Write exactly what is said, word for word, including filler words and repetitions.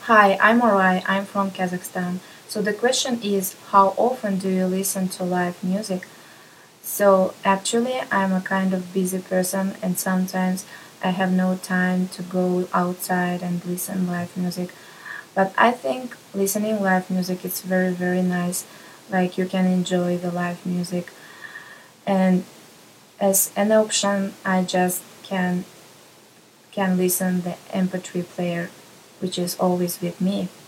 Hi, I'm Orai. I'm from Kazakhstan. So the question is, how often do you listen to live music? So actually, I'm a kind of busy person, and sometimes I have no time to go outside and listen live music. But I think listening live music is very very nice. Like you can enjoy the live music, and as an option, I just can can listen the M P three player, which is always with me.